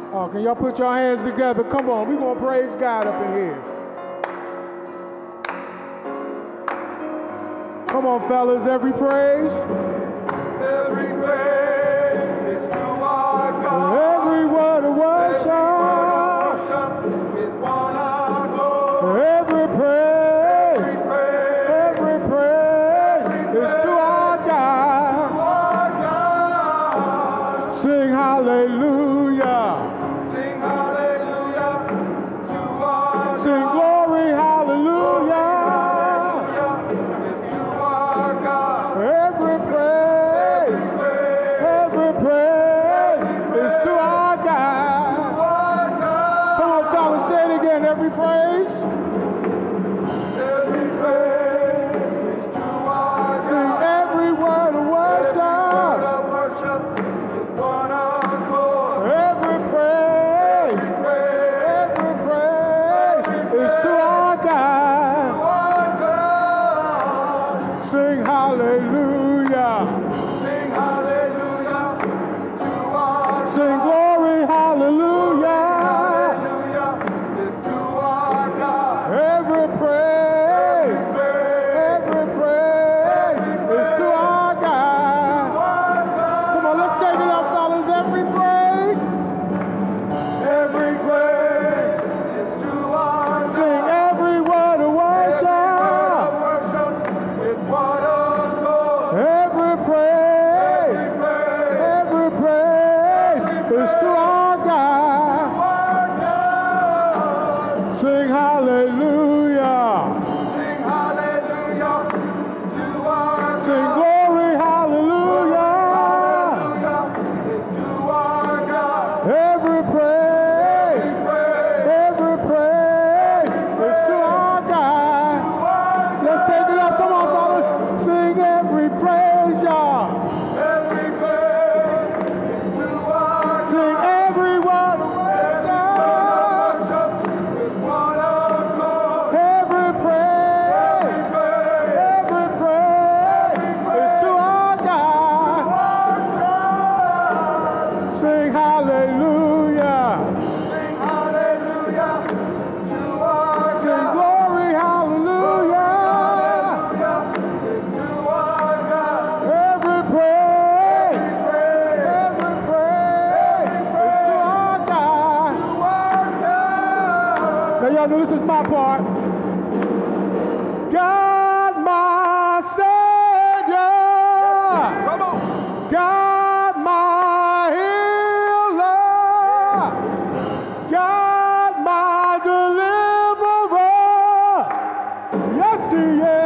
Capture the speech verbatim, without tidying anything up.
Oh, can y'all put your hands together? Come on, we're going to praise God up in here. Come on, fellas, every praise. Every praise is to our God. Every word of worship. Every word of worship is one accord. Every praise. Every praise. Every praise is to our God. To our God. Sing hallelujah. Sing hallelujah to our Sing God. glory, hallelujah. Is to our God. Every praise, every praise is to our God. Come on, fellas, say it again. Every praise, Every praise is to our sing God. every word of worship. Word of worship is one accord. Every praise, every praise is to our God. Our God. Sing hallelujah. Sing hallelujah to our Sing glory, hallelujah. Hallelujah is to our God. Every praise, every praise is to our God. Come on, let's take it up, fellas. Every praise, Every praise is to our sing God. every word of worship. Worship is one accord. Every praise, every praise is to our God. Our God. Sing hallelujah. Sing hallelujah to our Sing God. glory, hallelujah. Hallelujah is to our God. Every praise, every praise is to our God. Let's take it up. Come on, fellas. Sing every praise, y'all. Every praise is to our Sing every word of worship. worship is one accord. Every praise, every praise is to our God. Sing hallelujah. Sing hallelujah to our Sing God. glory, hallelujah. Hallelujah is to our God. Every praise, every praise is to our God. Our God. Now y'all know this is my part. God, my Savior. Come on. God, my healer. God, my deliverer. Yes, he is.